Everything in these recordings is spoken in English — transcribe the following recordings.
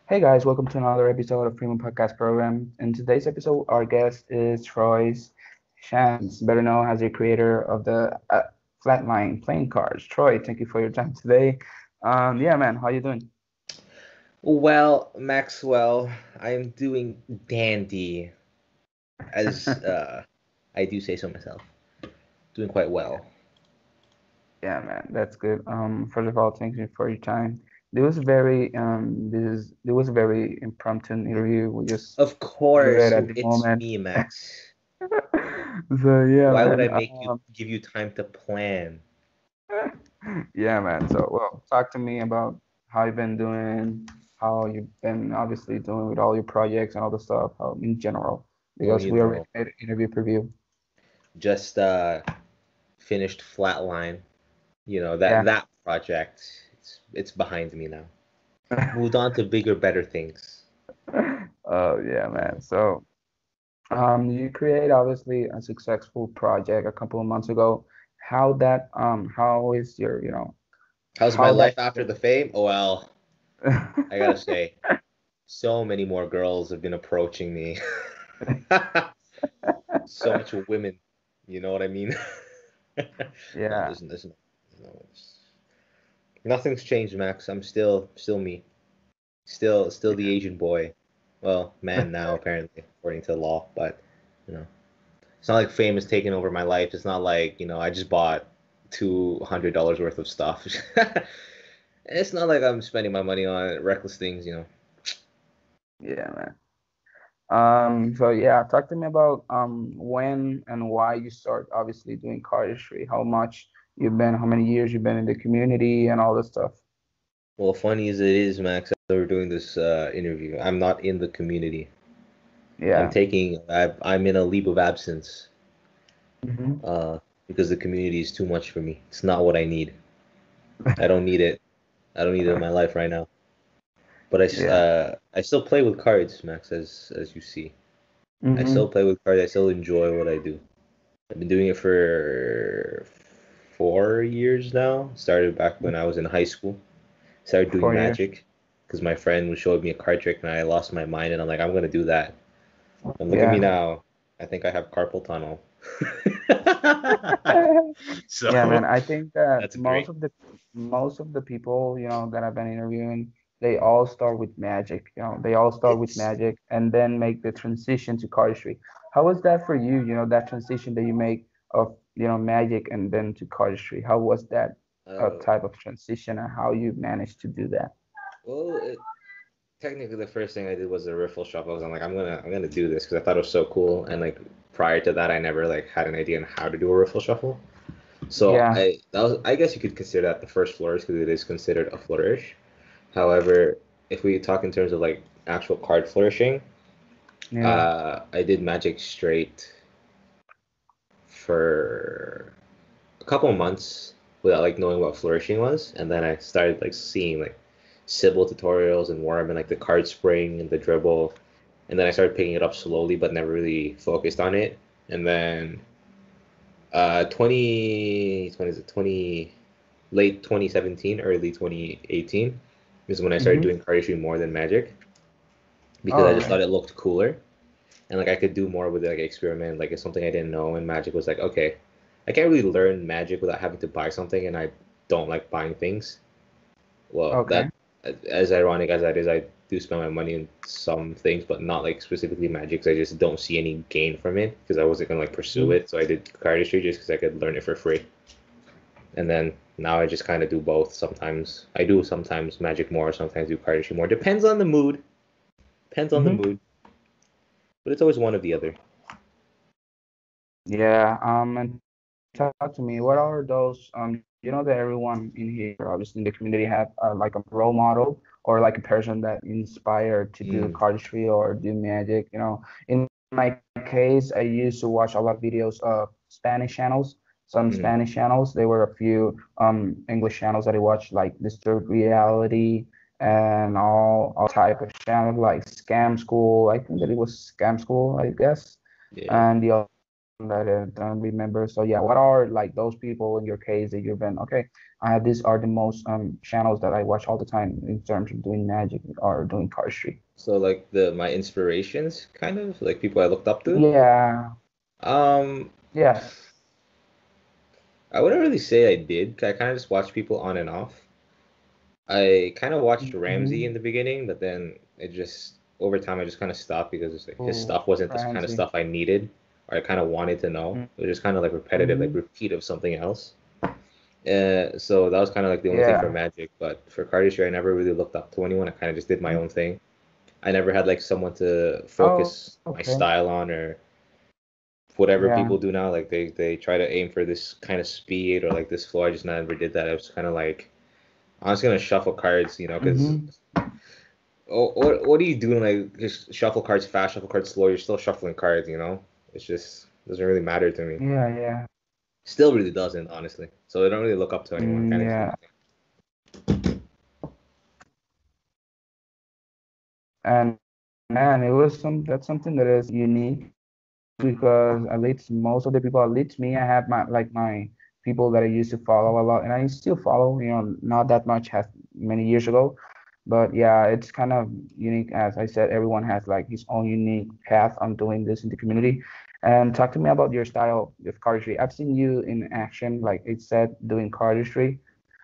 Hey guys, welcome to another episode of Premium Podcast Program. In today's episode, our guest is Troy's Shans, better known as the creator of the Flatline playing cards. Troy, thank you for your time today. Yeah, man, how you doing? Well, Maxwell, I'm doing dandy, as I do say so myself. Doing quite Yeah, well. yeah, man, that's good. First of all, thank you for your time. This was a very impromptu interview. We just Of do it course, at the it's moment. me, Max. So yeah, Why would man. I make you give you time to plan? Yeah, man. So, well, talk to me about how you've been doing, how you've been obviously doing with all your projects and all the stuff, how in general, Oh, because you we already know, made an interview preview. just finished Flatline. You know that Yeah. that project. It's behind me now. Moved on to bigger, better things. Oh, yeah, man. So, you create obviously a successful project a couple of months ago. How is How's my how that life after the fame? Oh, well, I gotta say, so many more girls have been approaching me. So much women. You know what I mean? No, Yeah. there's nothing's changed, Max. I'm still me. Still the Asian boy. Well, man now apparently, according to the law. But you know, it's not like fame has taken over my life. It's not like I just bought $200 worth of stuff. It's not like I'm spending my money on reckless things. Yeah, man. So yeah, talk to me about when and why you start obviously doing cardistry, how many years you've been in the community and all this stuff. Well, funny as it is, Max, as we're doing this interview, I'm not in the community. Yeah. I'm in a leave of absence Hmm. uh, because the community is too much for me. It's not what I need. I don't need it. I don't need it in my life right now. But Yeah. I still play with cards, Max, as you see. I still Hmm. play with cards. I still enjoy what I do. I've been doing it for 4 years now. Started back when I was in high school. Started doing 4 years. Magic because my friend was showing me a card trick and I lost my mind and I'm like, I'm gonna do that. And look at me Yeah. now. I think I have carpal tunnel. Yeah, man. So I think that that's great. most of the people, that I've been interviewing, they all start with magic. They all start with It's magic and then make the transition to cardistry. How was that for you? That transition that you make of, magic and then to cardistry. How was that uh, type of transition and how you managed to do that? well, technically the first thing I did was a riffle shuffle. I'm like, I'm gonna do this because I thought it was so cool. And like prior to that, I never like had an idea on how to do a riffle shuffle. So Yeah. I guess you could consider that the first flourish because it is considered a flourish. However, if we talk in terms of like actual card flourishing, Yeah. I did Magic Straight for a couple of months without like knowing what flourishing was, and then I started like seeing like Sybil tutorials and Worm and like the card spring and the dribble, and then I started picking it up slowly but never really focused on it. And then 20 is it 20 late 2017 early 2018 is when I started Mm-hmm. doing cardistry more than Magic because All I just right. thought it looked cooler and like I could do more with it, like experiment. Like it's something I didn't know, and Magic was like, okay, I can't really learn Magic without having to buy something, and I don't like buying things. Well, Okay. that as ironic as that is, I do spend my money in some things, but not like specifically Magic. 'Cause I just don't see any gain from it because I wasn't gonna like pursue Mhm. it. So I did cardistry just because I could learn it for free, and then now I just kind of do both. Sometimes I do sometimes Magic more, sometimes do cardistry more. Depends on the mood. Depends on the Mhm. mood, but it's always one or the other. Yeah. And talk to me. What are those? That everyone in here, obviously in the community, have like a role model or like a person that inspired to do Mm, cardistry or do magic. In my case, I used to watch a lot of videos of Spanish channels. Some mm. Spanish channels. There were a few English channels that I watched, like Disturbed Reality and all type of channels like Scam School. I think that it was Scam School, I guess. Yeah. And the that I don't remember. So yeah, what are like those people in your case that you've been okay? These are the most channels that I watch all the time in terms of doing magic or doing cardistry. So like the my inspirations, kind of like people I looked up to. Yeah, Um, yes. I wouldn't really say I did. I kind of just watched people on and off. I kind of watched Ramsey in Mm-hmm. the beginning, but then it just over time I just kind of stopped because it's like his Oh, stuff wasn't the kind of Ramsey. stuff I needed or I kind of wanted to know. It was just kind of like repetitive, like Mm-hmm. repeat of something else. So that was kind of like the only thing for Yeah. Magic. But for cardistry, I never really looked up to anyone. I kind of just did my own thing. I never had like someone to Oh, focus my okay. style on or whatever Yeah. people do now. Like they try to aim for this kind of speed or like this flow. I just never did that. I was kind of like I'm just gonna shuffle cards, because Mm-hmm. what are you doing? Like just shuffle cards fast, shuffle cards slow. You're still shuffling cards. It's just doesn't really matter to me. Yeah, yeah. Still really doesn't, honestly. So I don't really look up to anyone. I kind of just do Yeah. my thing. And man, it was that's something that is unique because at least most of the people, at least me, I have my people that I used to follow a lot, and I still follow, not that much as many years ago. But yeah, it's kind of unique. As I said, everyone has like his own unique path on doing this in the community. And talk to me about your style with cardistry. I've seen you in action, like it said, doing cardistry.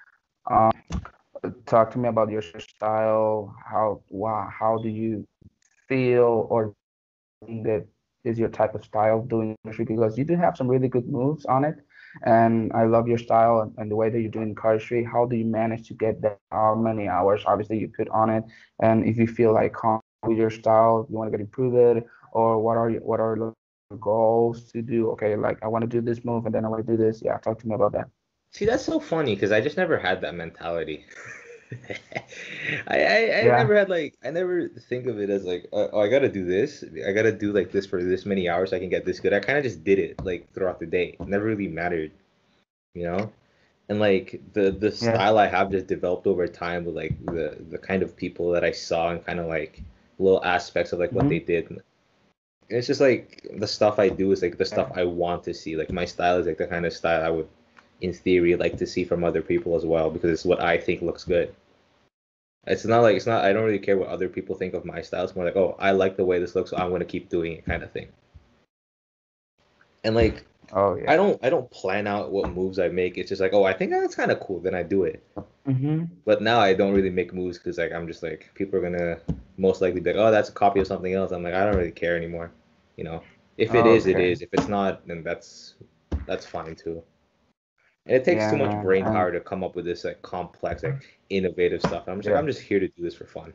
Talk to me about your style. How do you feel or think that is your type of style of doing cardistry? Because you do have some really good moves on it, and I love your style and the way that you're doing cardistry. How do you manage to get that? How many hours, obviously, you put on it, and if you feel like confident with your style, you want to get improve it, or what are your goals to do? Okay, like I want to do this move, and then I want to do this. Yeah, talk to me about that. See, that's so funny because I just never had that mentality. I Yeah. never had like I never think of it as like oh I gotta do this. I gotta do like this for this many hours so I can get this good. I kind of just did it like throughout the day. It never really mattered, you know? And like the Yeah. style I have just developed over time with like the kind of people that I saw and kind of like little aspects of like what they Hmm. did. And it's just like the stuff I do is like the stuff Yeah. I want to see. Like my style is like the kind of style I would in theory like to see from other people as well because it's what I think looks good. It's not I don't really care what other people think of my style. It's more like, oh, I like the way this looks, so I'm gonna keep doing it kind of thing. And like Oh I yeah. don't I don't plan out what moves I make. It's just like, oh, I think that's kind of cool, then I do it. Hmm. But now I don't really make moves because like I'm just like people are gonna most likely be like, oh, that's a copy of something else. I'm like, I don't really care anymore. You know, if it is, it Okay. is. If it's not, then that's fine too. And it takes too Yeah, much man. brain And power to come up with this like complex, like innovative stuff. I'm just like, yeah. I'm just here to do this for fun.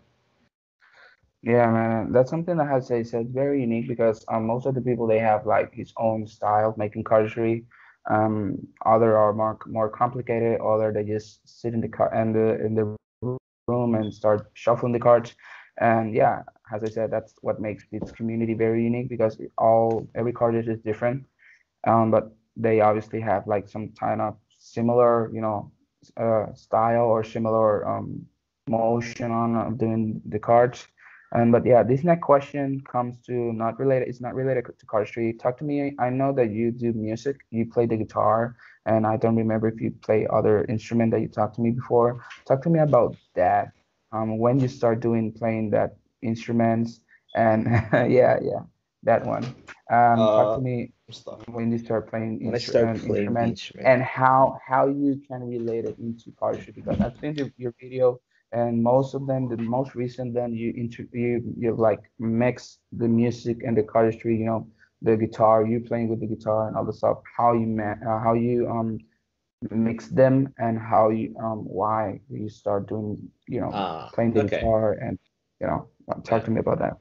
Yeah, man, that's something that has say said very unique because most of the people they have like his own style of making cardistry. Other are more complicated. Other they just sit in the car in the room and start shuffling the cards. And yeah, as I said, that's what makes this community very unique because every card is different. But they obviously have like some kind of similar, style or similar motion on doing the cards. And but yeah, this next question comes to not related. It's not related to cardistry. Talk to me. I know that you do music. You play the guitar, and I don't remember if you play other instrument that you talked to me before. Talk to me about that. When you start doing playing that instruments, and yeah, yeah, that one. Talk to Uh, me stuff. when you start playing When I start playing the instrument instrument. and how you can relate it into cardistry because I've seen your video and most of them the most recent then you like mix the music and the cardistry, the guitar, you playing with the guitar and all the stuff, how you mix them and how you why you start doing, playing the Okay. guitar and talk Yeah. to me about that.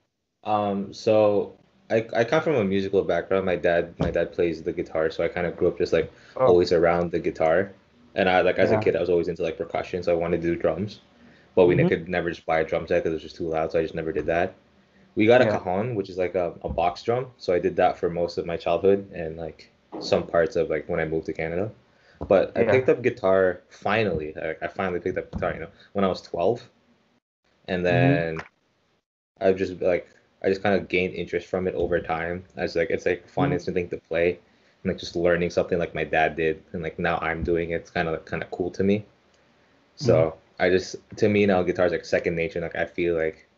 So I come from a musical background. My dad plays the guitar, so I kind of grew up just like Oh always around the guitar. And I like as a yeah. kid, I was always into like percussion, so I wanted to do drums. But we Hmm. could never just buy a drum set because it was just too loud, so I just never did that. We got a Yeah. cajon, which is like a box drum, so I did that for most of my childhood and like some parts of like when I moved to Canada. But I Yeah. picked up guitar finally. I finally picked up guitar, when I was 12, and Hmm. then I just kind of gained interest from it over time. As like it's like a fun Hmm. instant thing to play. and like just learning something like my dad did, and like now I'm doing it. It's kind of cool to me. Mm. So I just to me now guitar's like second nature. Like I feel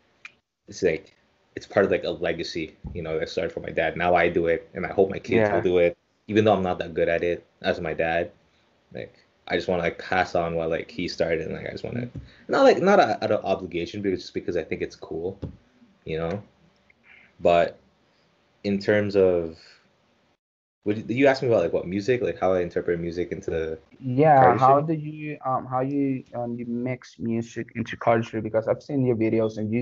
like it's part of like a legacy, that started from my dad. Now I do it, and I hope my kids will Yeah. do it, even though I'm not that good at it as my dad. Like I just want to like pass on what like he started, and like I just want to not out of obligation, but just because I think it's cool, you know. But in terms of would you ask me about like what music, like how I interpret music into Yeah, cardistry? how you mix music into culture? Because I've seen your videos and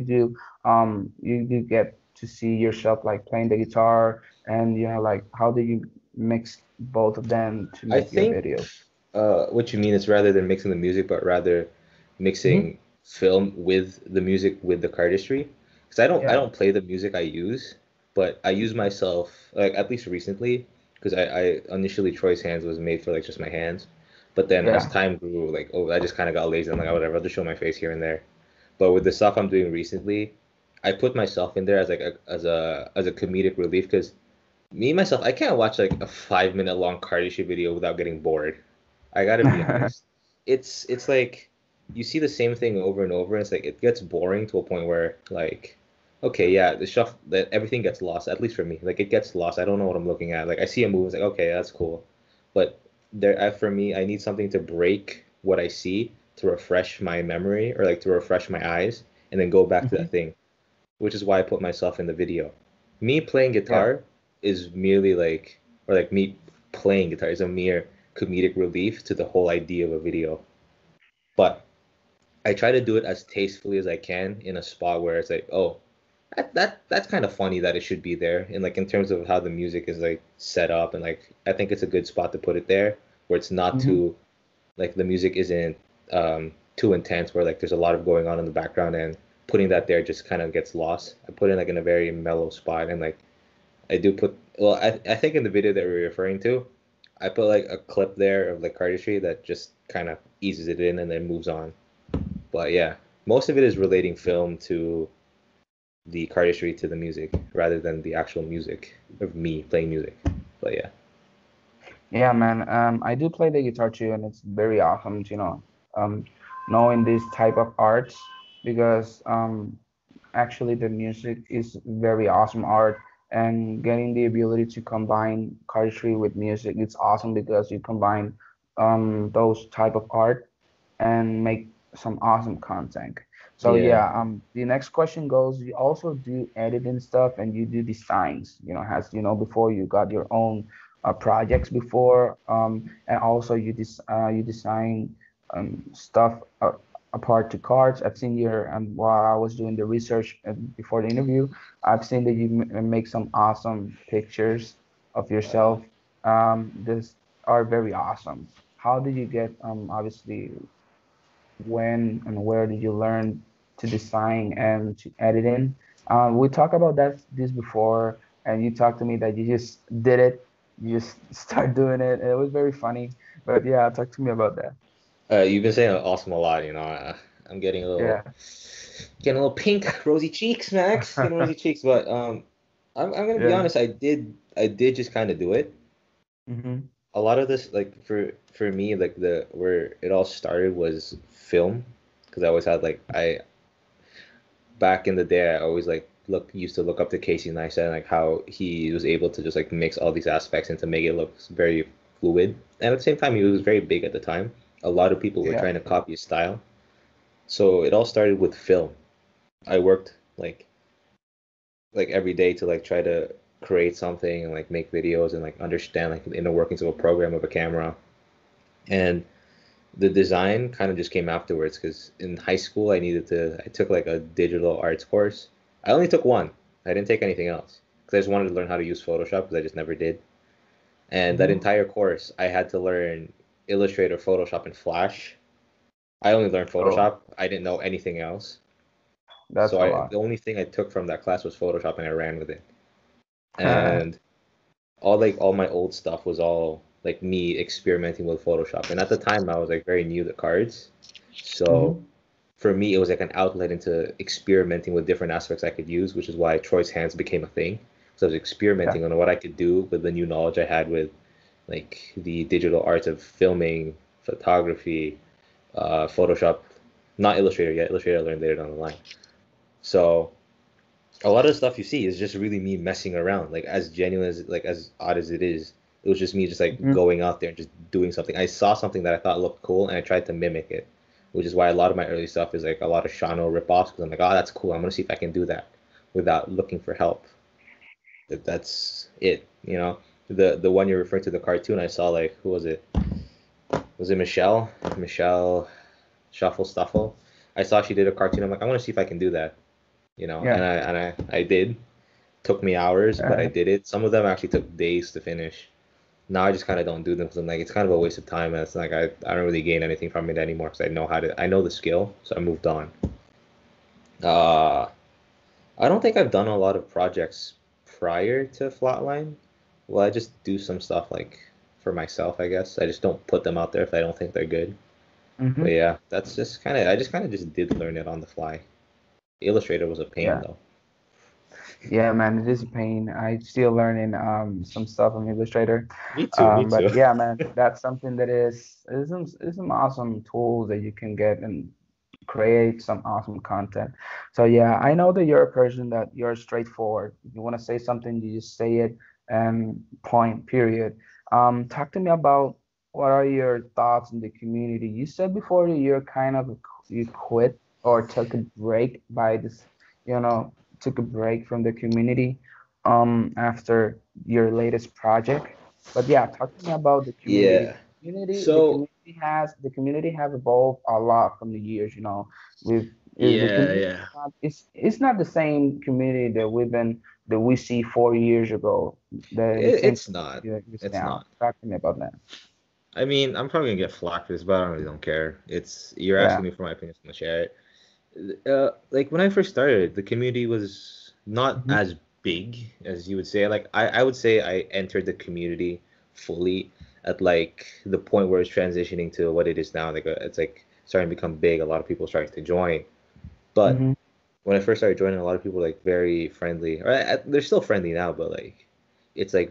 you do get to see yourself like playing the guitar, and like how do you mix both of them to I make your think videos? what you mean is rather than mixing the music, but rather Hmm. mixing film with the music with the cardistry. Because I Yeah. don't play the music I use, but I use myself like at least recently. Because I initially Troy's hands was made for like just my hands, but then as Yeah. time grew, like I just kind of got lazy. I'm like, oh, whatever, I'll just show my face here and there. But with the stuff I'm doing recently, I put myself in there as like as a comedic relief because me myself, I can't watch like a 5 minute long cardistry video without getting bored. I gotta be honest. It's like you see the same thing over and over, and it's like it gets boring to a point where like, okay, yeah, the stuff that everything gets lost, at least for me. Like it gets lost. I don't know what I'm looking at. Like I see a movie, it's like, okay, that's cool. But for me, I need something to break what I see to refresh my memory or like to refresh my eyes and then go back to Hmm. that thing, which is why I put myself in the video. Me playing Yeah. guitar is merely like, or like me playing guitar is a mere comedic relief to the whole idea of a video. But I try to do it as tastefully as I can in a spot where it's like, oh, that's kind of funny that it should be there. And like in terms of how the music is like set up, and like I think it's a good spot to put it there where it's not Hmm. too like the music isn't too intense where like there's a lot of going on in the background, and putting that there just kind of gets lost. I put it like in a very mellow spot, and like I do put well I think in the video that we're referring to, I put like a clip there of like cardistry that just kind of eases it in and then moves on. But yeah, most of it is relating film to the cardistry to the music rather than the actual music of me playing music. But yeah. Yeah, man. I do play the guitar too, and it's very awesome, um, knowing this type of arts because actually the music is very awesome art, and getting the ability to combine artistry with music, it's awesome because you combine those type of art and make some awesome content. So Yeah. yeah, the next question goes, you also do editing stuff and you do designs, has before you got your own projects before, and also you design stuff apart to cards. I've seen your while I was doing the research before the interview, I've seen that you make some awesome pictures of yourself. This are very awesome. How did you get obviously when and where did you learn to design and to editing? We talked about this before, and you talked to me that you just did it, you just start doing it, and it was very funny. But yeah, talk to me about that. You've been saying awesome a lot, I'm Yeah. getting a little pink, rosy cheeks, Max. Getting rosy cheeks, but I'm gonna be Yeah. honest. I did just kind of do it. Hmm. A lot of this, like for me, like the where it all started was film, because I always had like I back in the day, I always like used to look up to Casey Neistat and like how he was able to just like mix all these aspects and to make it look very fluid. And at the same time, he was very big at the time. A lot of people were Yeah. trying to copy his style. So it all started with film. I worked like every day to like try to create something and like make videos and like understand like the inner workings of a program of a camera. And the design kind of just came afterwards because in high school I took like a digital arts course. I only took one. I didn't take anything else because I just wanted to learn how to use Photoshop because I just never did. And that Hmm. entire course I had to learn Illustrator, Photoshop, and Flash. I only learned Oh, Photoshop. I didn't know anything else. that's So a the lot. only thing I took from that class was Photoshop and I ran with it. And all my old stuff was all like me experimenting with Photoshop. And at the time I was like very new to cards. So Hmm. for me, it was like an outlet into experimenting with different aspects I could use, which is why Troy's hands became a thing. So I was Yeah. experimenting on what I could do with the new knowledge I had with like the digital arts of filming, photography, Photoshop, not Illustrator yet. Illustrator I learned later down the line. So a lot of the stuff you see is just really me messing around. Like as genuine as like as odd as it was just me just like Hmm. going out there and just doing something. I saw something that I thought looked cool and I tried to mimic it, which is why a lot of my early stuff is like a lot of Shano ripoffs because I'm like, oh, that's cool. I'm gonna see if I can do that without looking for help. That's it, you know. The one you're referring to, the cartoon, I saw like who was it? Was it Michelle? Michelle Shuffle Stuffle. I saw she did a cartoon. I'm like, I want to see if I can do that, you know. Yeah. And I did. Took me hours, but I Uh, did it. Some of them actually took days to finish. Now I just kind of don't do them because I'm like it's kind of a waste of time, and it's like I don't really gain anything from it anymore because I know the skill, so I moved on. Uh, I don't think I've done a lot of projects prior to Flatline. Well, I just do some stuff like for myself, I guess. I just don't put them out there if I don't think they're good. But hmm. yeah, that's just kind of I just kind of just did learn it on the fly. Illustrator was a pain Yeah. though. Yeah, man, it is a pain. I still learning some stuff on Illustrator. Me too, me But too. yeah, man, that's something that is some awesome tools that you can get and create some awesome content. So yeah, I know that you're a person that you're straightforward. If you want to say something, you just say it and point, period. Talk to me about what are your thoughts in the community. You said before that you're kind of you quit or took a break by this, you know, took a break from the community after your latest project. But yeah, talk to me about the community. Yeah. So The community have evolved a lot from the years, with the yeah, community yeah. it's not the same community that we see 4 years ago, the same It's not. community that is It's now. not. Talk to me about that. I mean, I'm probably gonna get flack for this, but I really don't care. It's you're Yeah. asking me for my opinion, so I'm gonna share it. Like when I first started, the community was not Hmm. as big as you would say. Like I would say I entered the community fully at like the point where it's transitioning to what it is now. Like it's like starting to become big. A lot of people starting to join. But Hmm. when I first started joining, a lot of people were, like very friendly. Or they're still friendly now, but like it's like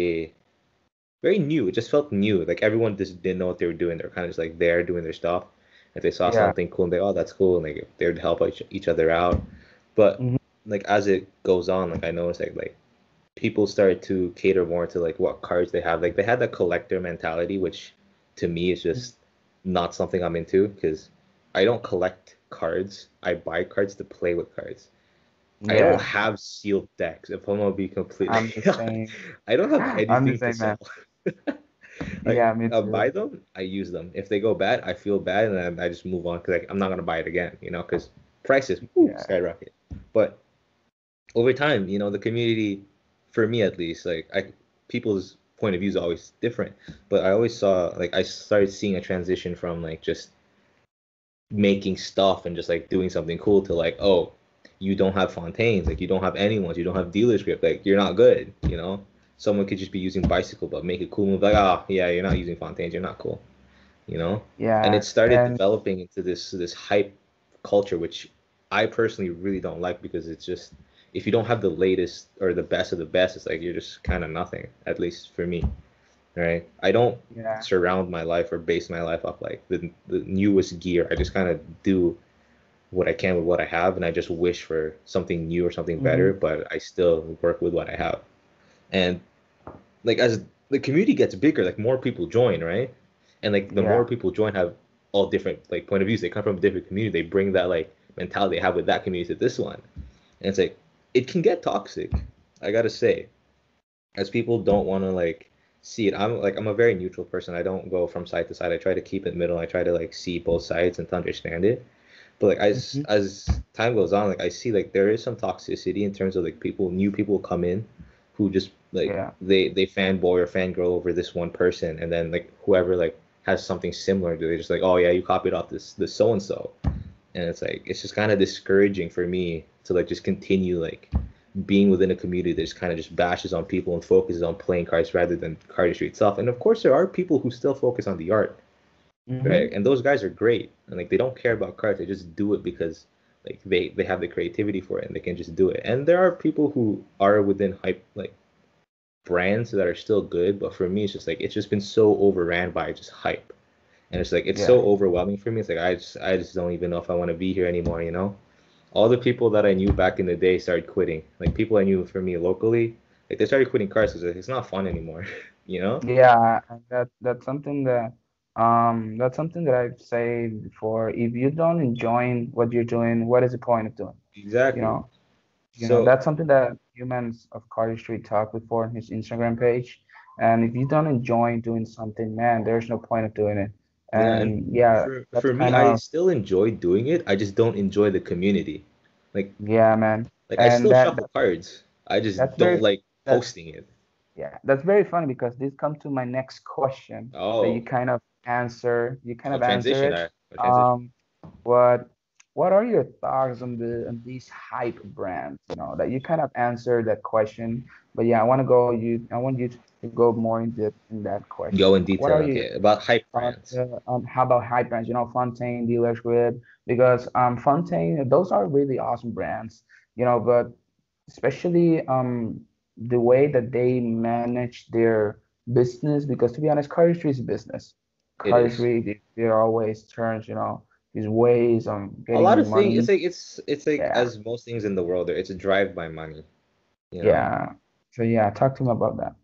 very new. It just felt new. Like everyone just didn't know what they were doing. They're kind of just like there doing their stuff. If they saw Yeah. something cool, and they oh that's cool, and like they would help each other out. But Hmm. like as it goes on, like I noticed like people started to cater more to like what cards they have. Like they had that collector mentality, which to me is just not something I'm into because I don't collect cards. I buy cards to play with cards. I don't Yeah. have sealed decks. If I'm gonna be completely I'm the honest, same. I don't have I'm the anything to same, man. sell. Like Yeah, me I buy too. them, I use them. If they go bad, I feel bad, and then I just move on because like, I'm not gonna buy it again, because prices Yeah. skyrocket. But over time, the community, for me at least, like people's point of view is always different. But I always saw like I started seeing a transition from like just making stuff and just like doing something cool to like, oh, you don't have fontaines, like you don't have anyone's, you don't have dealer script, like you're not good. Someone could just be using bicycle but make a cool move, like, oh yeah, you're not using fontaines, you're not cool, you know? And Yeah. it started And developing into this hype culture, which I personally really don't like because it's just if you don't have the latest or the best of the best, it's like you're just kind of nothing, at least for me, right? I don't yeah. surround my life or base my life off like the newest gear. I just kind of do what I can with what I have, and I just wish for something new or something Hmm. better, but I still work with what I have. And like as the community gets bigger, like more people join, right? And like the more Yeah. people join have all different like point of views. They come from a different community. They bring that like mentality they have with that community to this one. And it's like it can get toxic. I gotta say, as people don't want to like see it. I'm a very neutral person. I don't go from side to side. I try to keep it middle. I try to like see both sides and to understand it. But like Hmm. as time goes on, like I see like there is some toxicity in terms of like new people come in who just like Yeah. they fanboy or fangirl over this one person, and then like whoever like has something similar, do they just like, oh yeah, you copied off this so and so, and it's like it's just kind of discouraging for me to like just continue like being within a community that just kind of just bashes on people and focuses on playing cards rather than cardistry itself. And of course, there are people who still focus on the art, right? Hmm. And those guys are great, and like they don't care about cards; they just do it because like they have the creativity for it and they can just do it. And there are people who are within hype like brands that are still good, but for me, it's just been so overran by just hype, and it's like it's Yeah. so overwhelming for me. It's like I just don't even know if I want to be here anymore. You know, all the people that I knew back in the day started quitting. Like people I knew for me locally, like they started quitting cars because it's not fun anymore. You know? Yeah, and that's something that I've said before. If you don't enjoy what you're doing, what is the point of doing? You Exactly. know, So that's something that Humans of Carter Street talked before on his Instagram page. And if you don't enjoy doing something, man, there's no point of doing it. yeah, and And yeah, that's for me, kind I of still enjoy doing it. I just don't enjoy the community. Like yeah, man. I And still shuffle cards. I just that's very don't like that posting it. yeah, that's very funny because this comes to my next question that Oh, you kind oh, of answer transition. it. Oh, transition. Um, what what are your thoughts on these hype brands? That you kind of answered that question, but yeah, I want you to go more in depth in that Go question. in What detail. are your Okay, about hype thoughts brands. on how about hype brands? Fontaine, Dealer's Grid, because Fontaine, those are really awesome brands. But especially the way that they manage their business, because to be honest, cardistry is a business. It is. Cardistry, there always turns, these ways on A lot getting of things. money. It's like Yeah, as most things in the world, it's a drive by money. You know. yeah. So yeah, talk to me about that.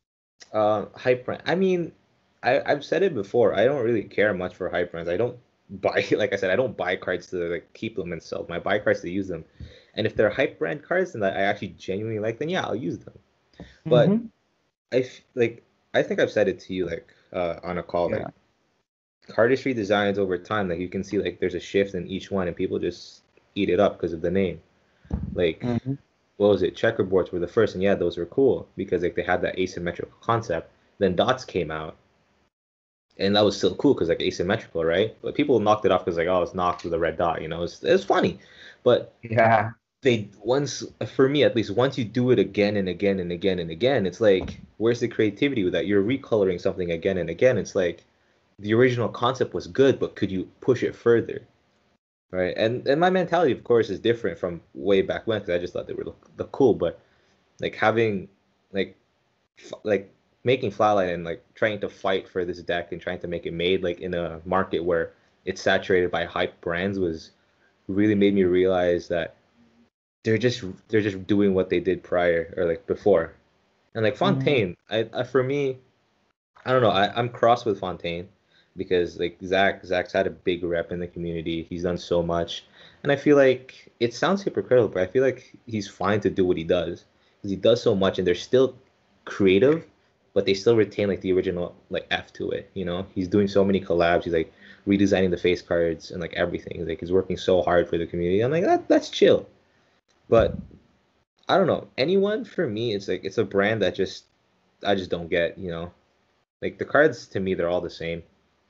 Hype brand. I mean, I've said it before. I don't really care much for hype brands. I don't buy, like I said, I don't buy cards to like keep them and sell them. I buy cards to use them. And if they're hype brand cards and that I actually genuinely like, then yeah, I'll use them. But Mm-hmm. like I think I've said it to you like on a call like Yeah. cardistry designs over time, like you can see like there's a shift in each one and people just eat it up because of the name. Like Mm-hmm. what was it? Checkerboards were the first, and yeah, those were cool because like they had that asymmetrical concept. Then dots came out, and that was still cool because like asymmetrical, right? But people knocked it off because like oh, it's knocked with a red dot, you know, it's funny. But Yeah. they once for me at least once you do it again and again and again and again, it's like where's the creativity with that? You're recoloring something again and again. It's like the original concept was good, but could you push it further? Right. And my mentality, of course, is different from way back when because I just thought they were look cool. But like having like like making Flatline and like trying to fight for this deck and trying to make it made like in a market where it's saturated by hype brands was really made me realize that they're just doing what they did prior or like before. And like Mm-hmm. Fontaine, I for me, I don't know, I'm cross with Fontaine because like Zach's had a big rep in the community. He's done so much. And I feel like it sounds hypocritical, but I feel like he's fine to do what he does. Because he does so much and they're still creative, but they still retain like the original like F to it, you know? He's doing so many collabs, he's like redesigning the face cards and like everything. Like he's working so hard for the community. I'm like that's chill. But I don't know. Anyone for me, it's like it's a brand that just I just don't get, you know. Like the cards to me, they're all the same.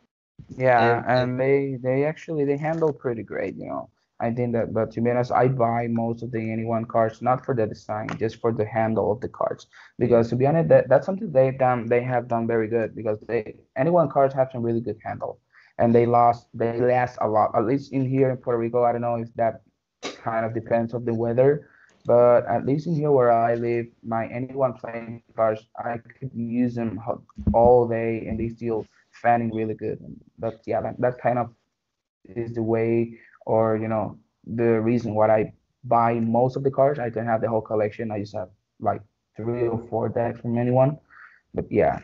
Yeah, And and they handle pretty great. I think that, but to be honest, I buy most of the anyone cards not for the design, just for the handle of the cards. yeah, Because to be honest, that's something they have done very good because they anyone cards have some really good handle, and they last a lot. At least in here in Puerto Rico, I don't know if that kind of depends of the weather, but at least in here where I live, my anyone playing cards, I could use them all day and they still fanning really good. But yeah, that kind of is the way, or the reason why I buy most of the cards. I don't have the whole collection. I just have like 3 or 4 decks from anyone. But yeah.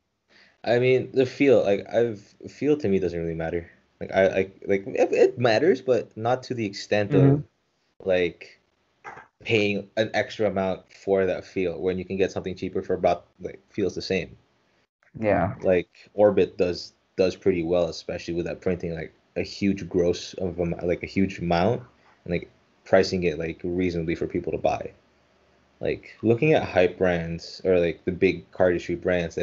I mean the feel, like I've feel to me doesn't really matter. Like I like it matters, but not to the extent of Hmm. like paying an extra amount for that feel when you can get something cheaper for about like feels the same. Yeah. Like Orbit does pretty well, especially with that printing like a huge gross of like a huge amount and like pricing it like reasonably for people to buy. Like looking at hype brands or like the big cardistry brands,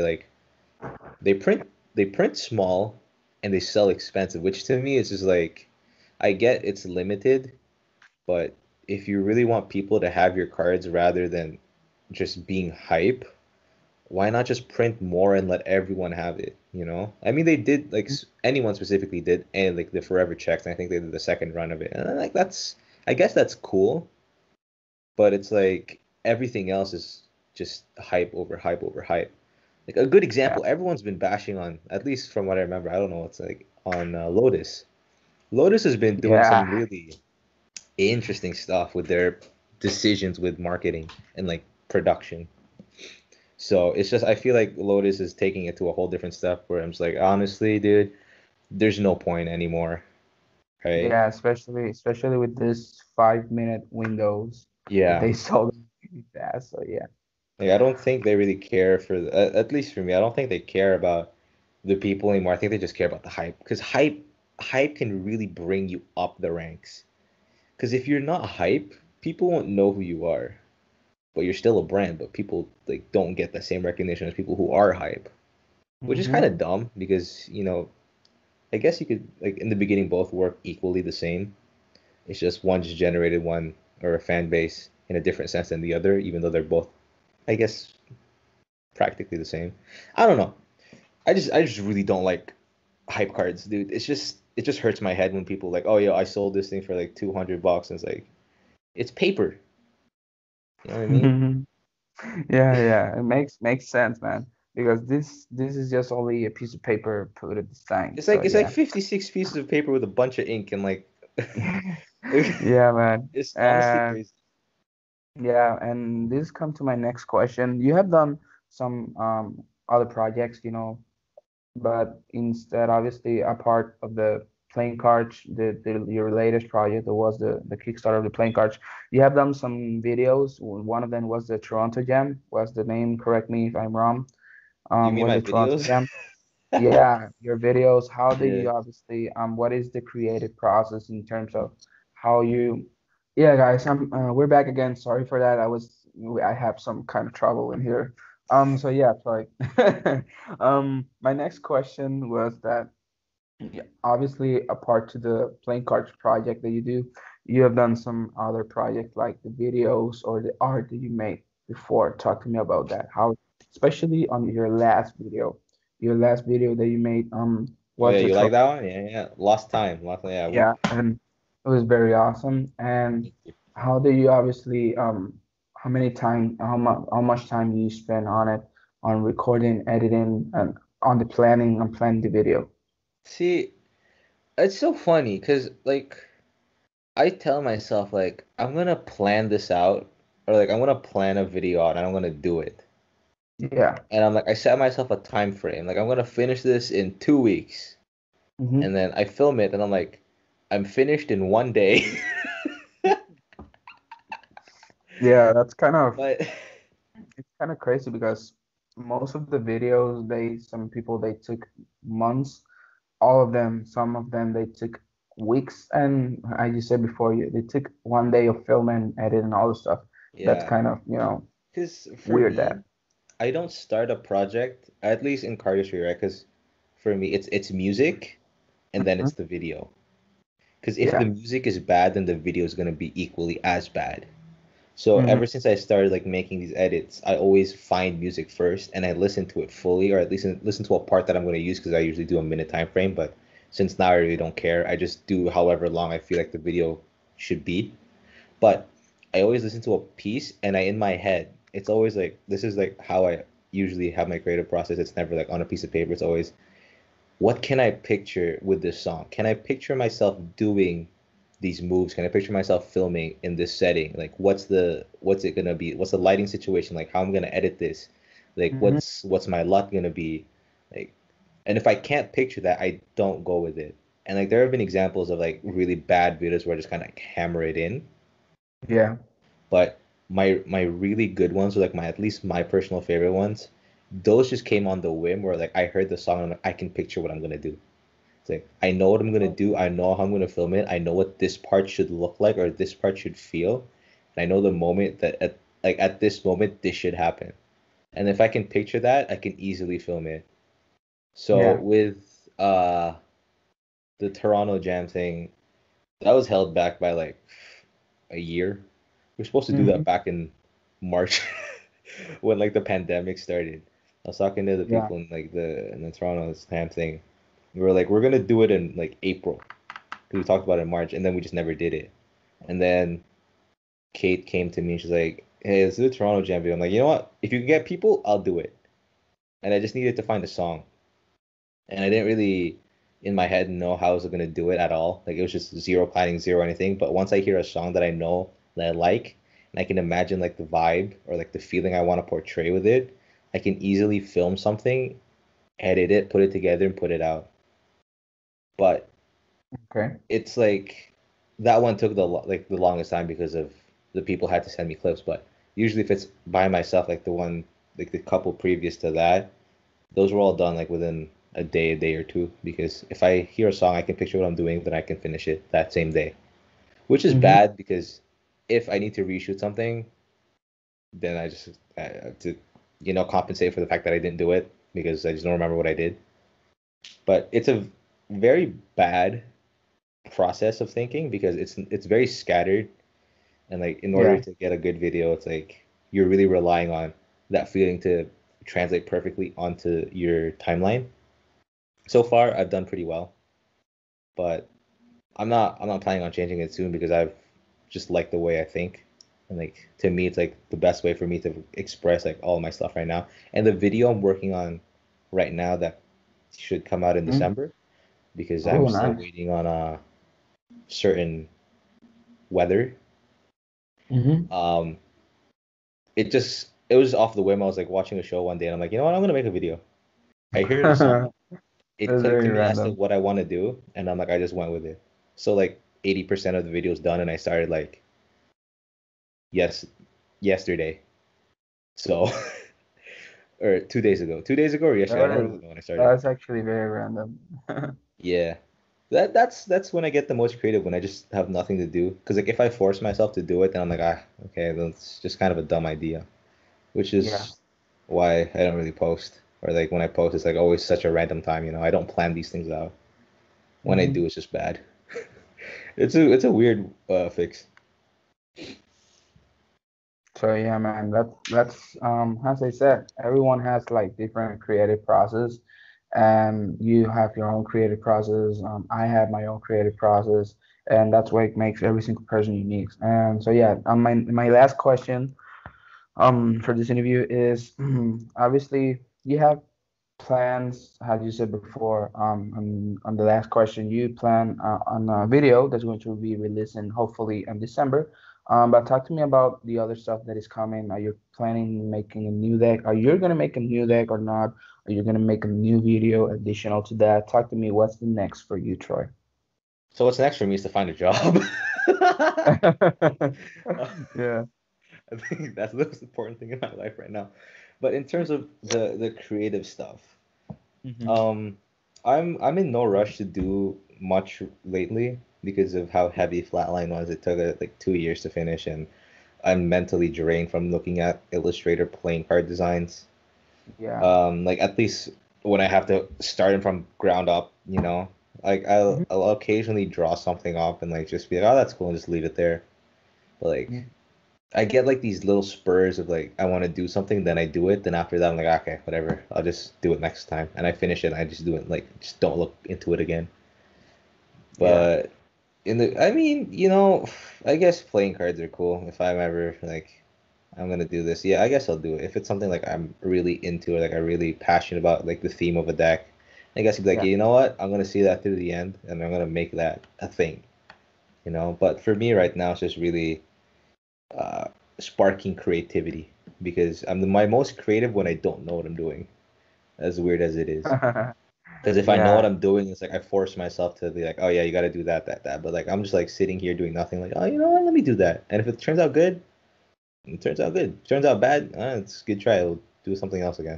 they print they print small and they sell expensive, which to me is just like I get it's limited, but if you really want people to have your cards rather than just being hype, why not just print more and let everyone have it, you know? I mean, they did like anyone specifically did and like the forever checks, and I think they did the second run of it. And I guess that's cool, but it's like everything else is just hype over hype over hype. Like a good example, everyone's been bashing on, at least from what I remember. I don't know what's like on Lotus. Lotus has been doing some Yeah, really interesting stuff with their decisions with marketing and like production. So it's just I feel like Lotus is taking it to a whole different step where I'm just like, honestly, dude, there's no point anymore, right? yeah, especially with this 5 minute windows that Yeah. they sold really fast. So yeah. Like I don't think they really care for at least for me, I don't think they care about the people anymore. I think they just care about the hype because hype can really bring you up the ranks. Because if you're not hype, people won't know who you are, but you're still a brand, but people like don't get the same recognition as people who are hype, which is kind Hmm. of dumb because, I guess you could like in the beginning both work equally the same. It's just one just generated one or a fan base in a different sense than the other, even though they're both, I guess, practically the same. I don't know. I just really don't like hype cards, dude. It just hurts my head when people like, oh yeah, I sold this thing for like $200, and it's like it's paper. You know what I mean? Yeah, yeah, it makes sense, man. Because this is just only a piece of paper put at this time. It's like So it's like yeah. 56 pieces of paper with a bunch of ink and like Yeah, man. it's honestly And crazy. yeah, and this come to my next question. You have done some other projects, but instead, obviously, a part of the playing cards, your latest project that was the Kickstarter of the playing cards. You have done some videos. One of them was the Toronto Jam. Was the name? Correct me if I'm wrong. You mean Was my the Toronto videos? Jam? Yeah, your videos. How do Yeah. you obviously what is the creative process in terms of how you? Yeah, guys, we're back again. Sorry for that. I have some kind of trouble in here. So yeah, sorry. My next question was that yeah, obviously apart to the playing cards project that you do, you have done some other projects like the videos or the art that you made before. Talk to me about that. How, especially on your last video that you made, Oh yeah, was the you tro like that one? Yeah, yeah. Lost time. Lost. Yeah. yeah, and it was very awesome. And how do you obviously how much time do you spend on it, on recording, editing, and on the planning the video? See, it's so funny because like I tell myself like I'm gonna plan this out or like I'm gonna plan a video out and I'm gonna do it. Yeah. And I'm like I set myself a time frame. Like I'm gonna finish this in 2 weeks. And Hmm. then I film it and I'm like, I'm finished in one day. Yeah, that's kind of But it's kind of crazy because most of the videos some people they took months, all of them, some of them they took weeks, and as you said before, they took one day of filming, edit, and all the stuff. That's yeah, kind of, because for weird me, that. I don't start a project, at least in cardistry, right? Because for me, it's music and then Mhm. it's the video. Because if the Yeah. music is bad, then the video is gonna be equally as bad. So Hmm. ever since I started like making these edits, I always find music first and I listen to it fully, or at least listen to a part that I'm going to use because I usually do a minute time frame. But since now I really don't care, I just do however long I feel like the video should be. But I always listen to a piece and in my head, it's always like this is like how I usually have my creative process. It's never like on a piece of paper. It's always what can I picture with this song? Can I picture myself doing these moves? Can I picture myself filming in this setting? Like what's it gonna be? What's the lighting situation? Like how I'm gonna edit this? Like Hmm. what's my lot gonna be? Like and if I can't picture that, I don't go with it. And like there have been examples of like really bad videos where I just kind of like hammer it in. Yeah. But my really good ones, or like my at least my personal favorite ones, those just came on the whim where like I heard the song and I'm like, I can picture what I'm gonna do. It's like I know what I'm gonna do. I know how I'm gonna film it. I know what this part should look like or this part should feel. And I know the moment that at this moment this should happen. And if I can picture that, I can easily film it. So Yeah. with the Toronto Jam thing, that was held back by like a year. We are supposed to do Hmm. that back in March when like the pandemic started. I was talking to the Yeah. people in the Toronto Slam thing. We were like, we're gonna do it in like April. We talked about it in March, and then we just never did it. And then Kate came to me and she's like, hey, let's do a Toronto Jam video. I'm like, you know what? If you can get people, I'll do it. And I just needed to find a song. And I didn't really, in my head, know how I was gonna do it at all. Like it was just zero planning, zero anything. But once I hear a song that I know that I like, and I can imagine like the vibe or like the feeling I want to portray with it, I can easily film something, edit it, put it together, and put it out. But Okay. it's like that one took the longest time because of the people had to send me clips. But usually, if it's by myself, like the one, like the couple previous to that, those were all done like within a day or two. Because if I hear a song, I can picture what I'm doing, then I can finish it that same day. Which is Mm-hmm. bad because if I need to reshoot something, then I have to, compensate for the fact that I didn't do it because I just don't remember what I did. But it's a very bad process of thinking because it's very scattered, and like in order Yeah. to get a good video, it's like you're really relying on that feeling to translate perfectly onto your timeline. So far, I've done pretty well, but I'm not planning on changing it soon because I've just liked the way I think. And like to me, it's like the best way for me to express like all my stuff right now. And the video I'm working on right now that should come out in Mm. December because I'm Oh, still nice. waiting on a certain weather. Mm-hmm. Um, it was off the whim. I was like watching a show one day and I'm like, you know what, I'm gonna make a video. I hear the song, it That's clicked to very me as to random. what I want to do, and I'm like, I just went with it. So like 80% of the video is done, and I started like yes yesterday. So or 2 days ago, 2 days ago or yesterday. I don't That really is, know when I started. that's actually very random. Yeah, that's when I get the most creative when I just have nothing to do. Because like if I force myself to do it, then I'm like okay, that's just kind of a dumb idea. Which Yeah. is why I don't really post. Or like when I post, it's like always such a random time. I don't plan these things out. When I Mm-hmm. do, it's just bad. It's a weird fix. So yeah, man, that's as I said, everyone has like different creative process, and you have your own creative process. I have my own creative process, and that's what makes every single person unique. And so yeah, my last question for this interview is obviously you have plans, as you said before, on the last question, you plan on a video that's going to be releasing hopefully in December. But talk to me about the other stuff that is coming. Are you planning making a new deck? Are you going to make a new deck or not? Are you going to make a new video additional to that? Talk to me. What's the next for you, Troy? So what's next for me is to find a job. Yeah. I think that's the most important thing in my life right now. But in terms of the creative stuff, Hmm. um, I'm in no rush to do much lately because of how heavy Flatline was. It took like 2 years to finish, and I'm mentally drained from looking at Illustrator playing card designs. Yeah. Like at least when I have to start them from ground up, like I'll, Hmm. I'll occasionally draw something up and like just be like, oh, that's cool, and just leave it there. But like I get like these little spurs of like I want to do something, then I do it, then after that I'm like, okay, whatever, I'll just do it next time, and I finish it, and I just do it like just don't look into it again. Yeah. But I mean, I guess playing cards are cool. If I'm ever like I'm gonna do this, yeah, I guess I'll do it. If it's something like I'm really into or like I'm really passionate about, like the theme of a deck, I guess I'd be like, Yeah. you know what, I'm gonna see that through the end, and I'm gonna make that a thing. But for me right now, it's just really uh, sparking creativity because my most creative when I don't know what I'm doing, as weird as it is. Because if I know what Yeah. I'm doing, it's like I force myself to be like, oh yeah, you got to do that, that, that. But like I'm just like sitting here doing nothing. Like, oh, you know what? Let me do that. And if it turns out good, it turns out good. Turns out bad, it's a good try. I'll do something else again.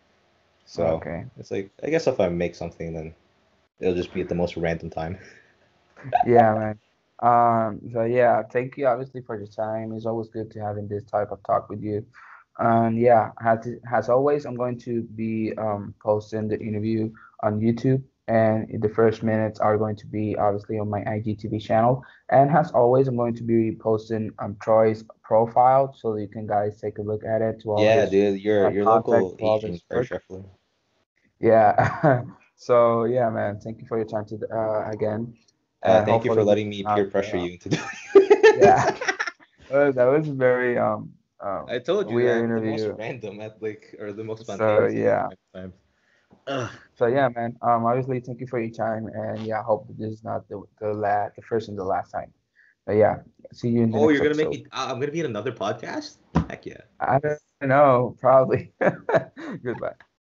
So Okay. it's like I guess if I make something, then it'll just be at the most random time. Yeah, man. So yeah, thank you obviously for your time. It's always good to having this type of talk with you. And yeah, as always, I'm going to be posting the interview on YouTube, and the first minutes are going to be obviously on my IGTV channel. And as always, I'm going to be posting Troy's profile so you can guys take a look at it to all Yeah, his dude, your contact, local to all Asian his card work. shuffler. Yeah. So yeah, man, thank you for your time to again, and Thank you for hopefully we letting can me have peer pressure you into doing yeah. it. That was very I told you weird that the most interview. random at like or the most So spontaneous yeah. times. Ugh. So yeah, man. Obviously, thank you for your time, and yeah, I hope that this is not the first and the last time. But yeah, see you in the Oh, next you're gonna make episode. me. I'm gonna be in another podcast. Heck yeah. I don't know, probably. Goodbye.